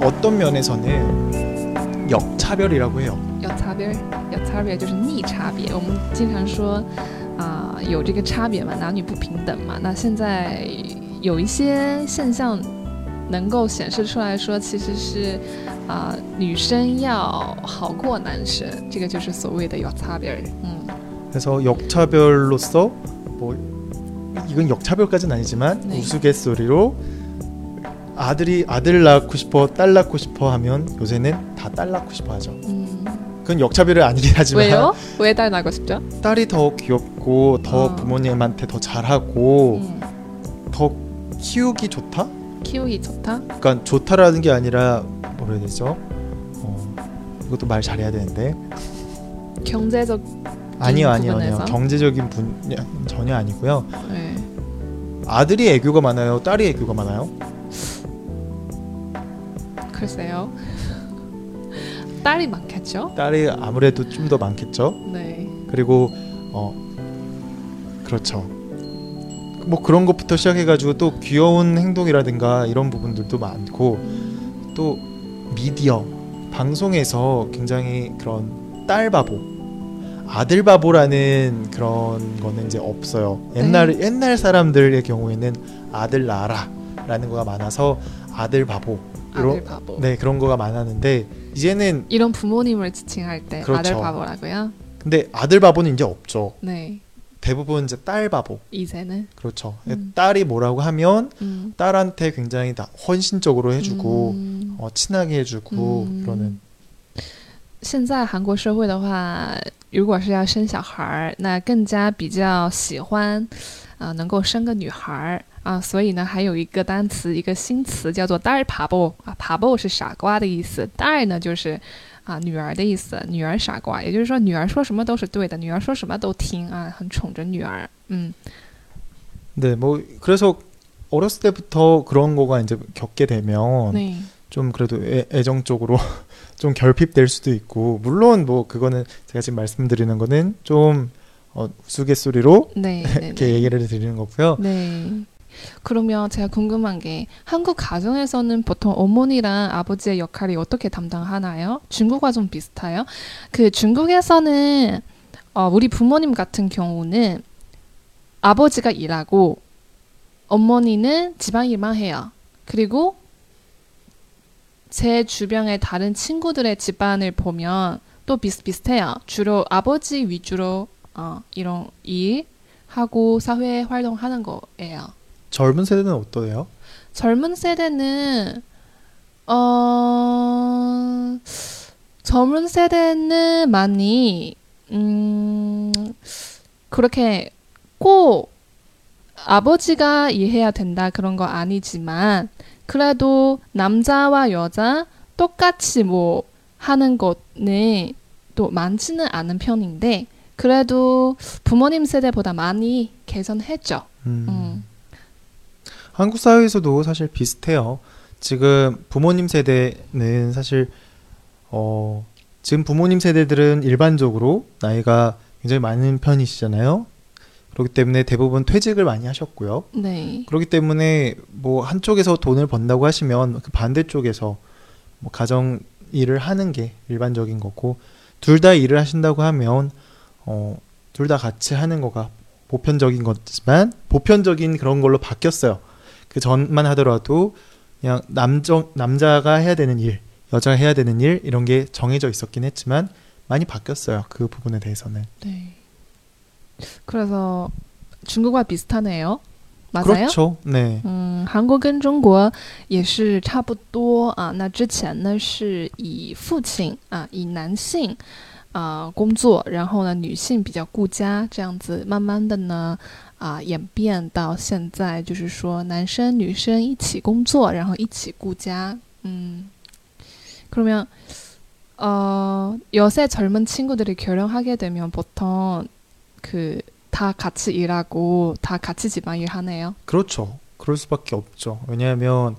어떤 면에서는 역차별이라고 해요. 有差别就是逆差别。我们经常说有这个差别嘛，男女不平等嘛。那现在有一些现象能够显示出来说，其实是女生要好过男生，这个就是所谓的역차별。 그래서 역차별로서 뭐 이건 역차별까지는 아니지만 네. 우스갯소리로 아들 낳고 싶어, 딸 낳고 싶어 하면 요새는 다 딸 낳고 싶어 하죠. 그건 역차별은 아니긴 하지만 왜요? 왜 딸 낳고 싶죠? 딸이 더 귀엽고 더 부모님한테 더 잘하고 더 키우기 좋다? 키우기 좋다? 그러니까 좋다라는 게 아니라 뭐라 해야 되죠? 이것도 말 잘해야 되는데 경제적 아니요. 부분에서? 경제적인 전혀 아니고요. 네. 아들이 애교가 많아요? 딸이 애교가 많아요? 글쎄요. 딸이 많겠죠? 딸이 아무래도 좀 더 많겠죠. 네. 그리고 그렇죠. 뭐 그런 것부터 시작해가지고 또 귀여운 행동이라든가 이런 부분들도 많고 또 미디어 방송에서 굉장히 그런 딸 바보, 아들 바보라는 그런 거는 이제 없어요. 옛날 사람들의 경우에는 아들 낳아라라는 거가 많아서 아들 바보. 아들 바보. 네, 그런 거가 많았는데 이제는 이런 부모님을 지칭할 때 그렇죠. 아들 바보라고요? 근데 아들 바보는 이제 없죠. 네. 대부분 이제 딸 바보. 이제는 그렇죠. 딸이 뭐라고 하면 딸한테 굉장히 다 헌신적으로 해주고 친하게 해주고 그러는. 现在韩国社会的话，如果是要生小孩，那更加比较喜欢能够生个女孩所以呢还有一个单词，一个新词叫做딸 바보 바보是傻瓜的意思，딸呢就是女儿的意思，女儿傻瓜，也就是说女儿说什么都是对的，女儿说什么都听很宠着女儿。 네, 뭐 그래서 어렸을 때부터 그런 거가 이제 겪게 되면 네. 좀 그래도 애정적으로 좀 결핍될 수도 있고, 물론 뭐 그거는 제가 지금 말씀드리는 거는 좀 우스갯소리로 네, 이렇게 얘기를 드리는 거고요. 네. 그러면 제가 궁금한 게 한국 가정에서는 보통 어머니랑 아버지의 역할이 어떻게 담당하나요? 중국과 좀 비슷해요? 그 중국에서는 우리 부모님 같은 경우는 아버지가 일하고 어머니는 집안일만 해요. 그리고 제 주변의 다른 친구들의 집안을 보면 또 비슷비슷해요. 주로 아버지 위주로 이런 일하고 사회 활동하는 거예요. 젊은 세대는 어떠해요? 젊은 세대는 젊은 세대는 많이 그렇게 꼭 아버지가 일해야 된다 그런 거 아니지만 그래도 남자와 여자 똑같이 뭐 하는 거는 또 많지는 않은 편인데 그래도 부모님 세대보다 많이 개선했죠. 한국 사회에서도 사실 비슷해요. 지금 부모님 세대는 사실 지금 부모님 세대들은 일반적으로 나이가 굉장히 많은 편이시잖아요. 그렇기 때문에 대부분 퇴직을 많이 하셨고요. 네. 그렇기 때문에 뭐 한쪽에서 돈을 번다고 하시면 그 반대쪽에서 뭐 가정 일을 하는 게 일반적인 거고, 둘 다 일을 하신다고 하면 둘 다 같이 하는 거가 보편적인 거지만 보편적인 그런 걸로 바뀌었어요. 그 전만 하더라도 그냥 남자가 해야 되는 일, 여자가 해야 되는 일 이런 게 정해져 있었긴 했지만 많이 바뀌었어요. 그 부분에 대해서는. 네. 그래서 중국과 비슷하네요. 맞아요? 그렇죠. 네. 韩国跟中国也是差不多那之前呢是以父亲以男性工作，然后呢女性比较顾家，这样子慢慢的呢演变到现在，就是说男生女生一起工作，然后一起顾家。 그러면 요새 젊은 친구들이 결혼하게 되면 보통 다 같이 일하고 다 같이 집안일 하네요. 그렇죠. 그럴 수밖에 없죠. 왜냐하면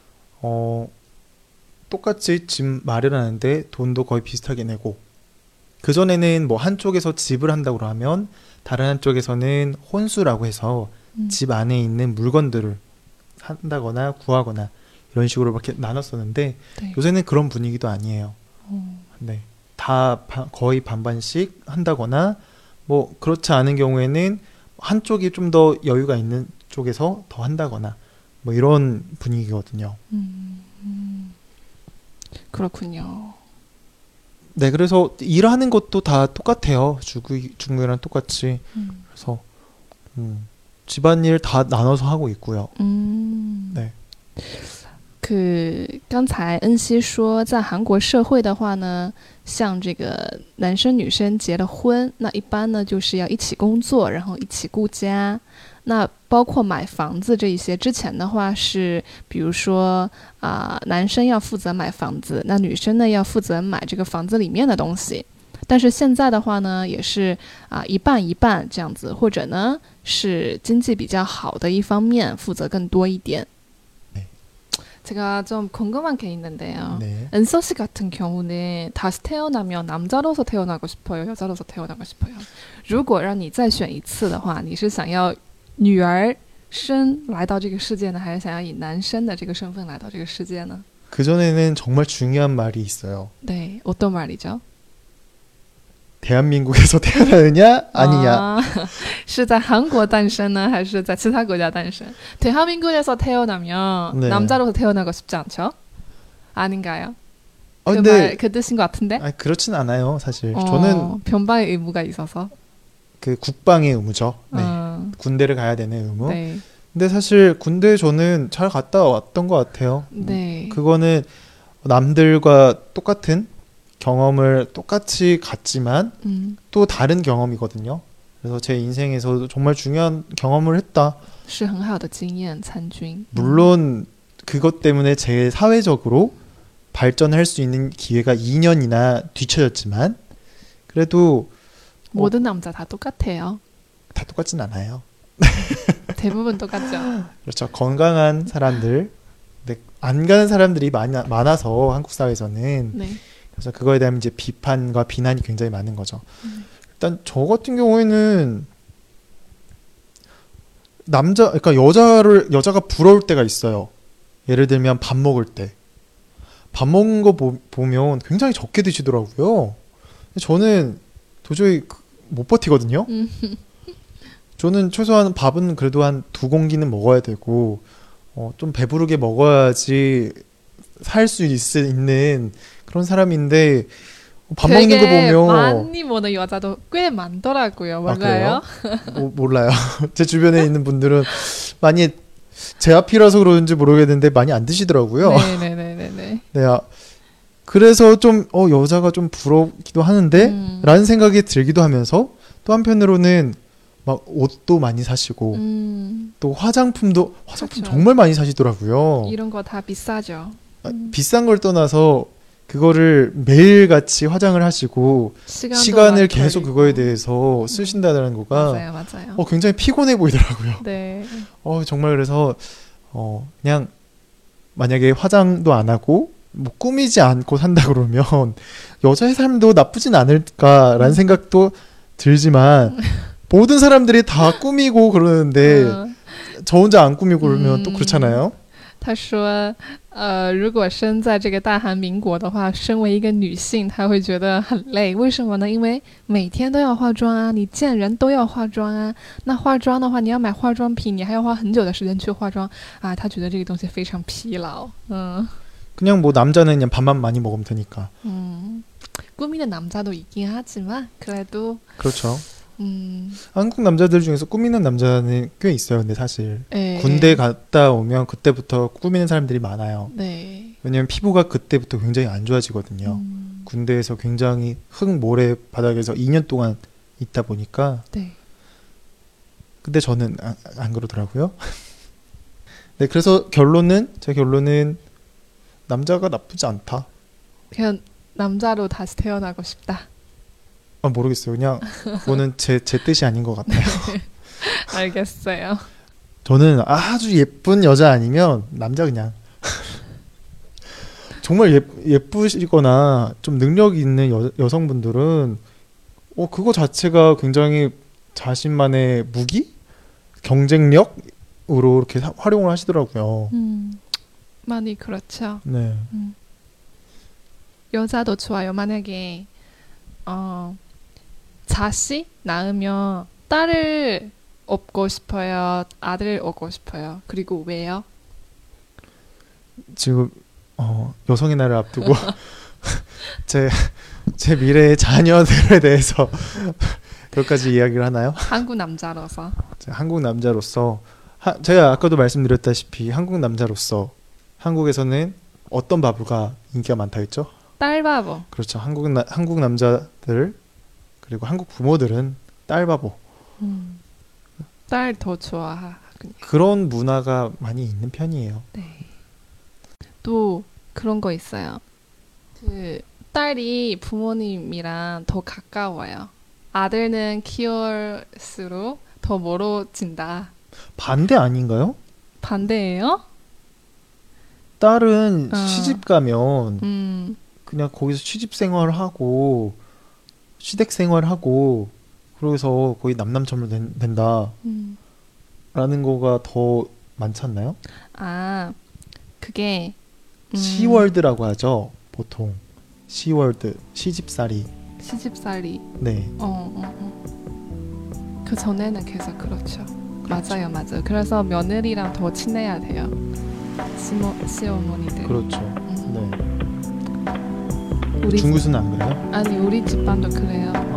똑같이 집 마련하는데 돈도 거의 비슷하게 내고, 그전에는 뭐 한쪽에서 집을 한다고 하면 다른 한쪽에서는 혼수라고 해서 집 안에 있는 물건들을 한다거나 구하거나 이런 식으로 이렇게 나눴었는데 네. 요새는 그런 분위기도 아니에요. 네. 다 거의 반반씩 한다거나 뭐 그렇지 않은 경우에는 한쪽이 좀 더 여유가 있는 쪽에서 더 한다거나 뭐 이런 분위기거든요. 그렇군요. 네, 그래서 일하는 것도 다 똑같아요. 중국이랑 똑같이. 그래서 집안일 다 나눠서 하고 있고요. 네. 刚才恩熙说，在韩国社会的话呢，像这个男生女生结了婚，那一般呢就是要一起工作，然后一起顾家。那包括买房子这一些，之前的话是，比如说男生要负责买房子，那女生呢要负责买这个房子里面的东西。但是现在的话呢，也是一半一半这样子，或者呢是经济比较好的一方面负责更多一点。 제가 좀 궁금한 게 있는데요. 네. 은서 씨 같은 경우는 다시 태어나면 남자로서 태어나고 싶어요, 여자로서 태어나고 싶어요. 如果让你再选一次的话，你是想要女儿生来到这个世界呢，还是想要以男生的这个身份来到这个世界呢？ 그전에는 정말 중요한 말이 있어요. 네, 어떤 말이죠? 대한민국에서 태어나느냐 아니냐. 是在韩国诞生呢，还是在其他国家诞生？ 대한민국에서 태어나면 네. 남자로서 태어나고 싶지 않죠? 아닌가요? 그 근데 말 그 뜻인 것 같은데? 그렇진 않아요, 사실. 저는 변방의 의무가 있어서. 그 국방의 의무죠. 네. 군대를 가야 되는 의무. 네. 근데 사실 군대 저는 잘 갔다 왔던 것 같아요. 네. 그거는 남들과 똑같은 경험을 똑같이 갔지만 또 다른 경험이거든요. 그래서 제 인생에서 정말 중요한 경험을 했다. 是很好的经验参军. 물론 그것 때문에 제 사회적으로 발전할 수 있는 기회가 2년이나 뒤쳐졌지만 그래도 모든 남자 다 똑같아요. 다 똑같진 않아요. 대부분 똑같죠. 그렇죠. 건강한 사람들, 근데 안 가는 사람들이 많아서 한국 사회에서는 네. 그래서 그거에 대한 이제 비판과 비난이 굉장히 많은 거죠. 일단 저 같은 경우에는 그러니까 여자가 부러울 때가 있어요. 예를 들면 밥 먹을 때. 밥 먹는 거 보면 굉장히 적게 드시더라고요. 저는 도저히 못 버티거든요. 저는 최소한 밥은 그래도 한 2공기는 먹어야 되고 좀 배부르게 먹어야지 살 수 있는 그런 사람인데 밥 먹는 거 보면 많이 먹는 여자도 꽤 많더라고요. 맞아요? 몰라요. 제 주변에 있는 분들은 많이 제 앞이라서 그런지 모르겠는데 많이 안 드시더라고요. 네네네네. 네, 그래서 좀 여자가 좀 부럽기도 하는데 라는 생각이 들기도 하면서 또 한편으로는 막 옷도 많이 사시고 또 화장품 그렇죠. 정말 많이 사시더라고요. 이런 거 다 비싸죠. 비싼 걸 떠나서 그거를 매일같이 화장을 하시고 시간을 계속 그거에 대해서 쓰신다는 거가 맞아요. 굉장히 피곤해 보이더라고요. 네. 정말 그래서 그냥 만약에 화장도 안 하고 뭐 꾸미지 않고 산다 그러면 여자의 삶도 나쁘진 않을까라는 생각도 들지만 모든 사람들이 다 꾸미고 그러는데 저 혼자 안 꾸미고 그러면 또 그렇잖아요. 他说如果生在这个大韩民国的话，身为一个女性她会觉得很累。为什么呢？因为每天都要化妆啊，你见人都要化妆啊。那化妆的话，你要买化妆品，你还要花很久的时间去化妆啊。她觉得这个东西非常疲劳。 그냥 뭐 남자는 그냥 밥만 많이 먹으면 되니까. 꾸미는 남자도 있긴 하지만 그래도 그렇죠. 한국 남자들 중에서 꾸미는 남자는 꽤 있어요. 근데 사실 군대 갔다 오면 그때부터 꾸미는 사람들이 많아요. 네. 왜냐면 피부가 그때부터 굉장히 안 좋아지거든요. 군대에서 굉장히 모래 바닥에서 2년 동안 있다 보니까. 네. 근데 저는 안 그러더라고요. 네, 그래서 제 결론은 남자가 나쁘지 않다. 그냥 남자로 다시 태어나고 싶다. 모르겠어요. 그냥 그거는 제 뜻이 아닌 것 같아요. 알겠어요. 저는 아주 예쁜 여자 아니면 남자 그냥 정말 예쁘시거나 좀 능력이 있는 여성분들은 그거 자체가 굉장히 자신만의 무기? 경쟁력으로 이렇게 활용을 하시더라고요. 많이 그렇죠. 네. 여자도 좋아요. 만약에 자식 낳으면 딸을 얻고 싶어요. 아들을 얻고 싶어요. 그리고 왜요? 지금 여성의 날을 앞두고 제, 제 미래의 자녀들에 대해서 몇 가지 이야기를 하나요? 한국 남자로서. 한국 남자로서 제가 아까도 말씀드렸다시피 한국 남자로서 한국에서는 어떤 바보가 인기가 많다 했죠? 딸바보. 그렇죠. 한국 남자들 그리고 한국 부모들은 딸 바보 딸 더 좋아하군요. 그런 문화가 많이 있는 편이에요. 네. 또 그런 거 있어요. 그 딸이 부모님이랑 더 가까워요. 아들은 키울수록 더 멀어진다. 반대 아닌가요? 반대예요? 딸은 어. 시집 가면 음, 그냥 거기서 취직 생활하고 시댁 생활하고 그래서 거의 남남처럼 된다라는 거가 더 많지 않나요? 아, 그게 시월드라고 하죠. 보통 시월드 시집살이. 시집살이. 네. 그 전에는 계속 그렇죠. 맞아요, 맞아요. 그래서 며느리랑 더 친해야 돼요. 시어머니들. 그렇죠. 네. 우리 중국에서는 안 그래요? 아니 우리 집안도 그래요.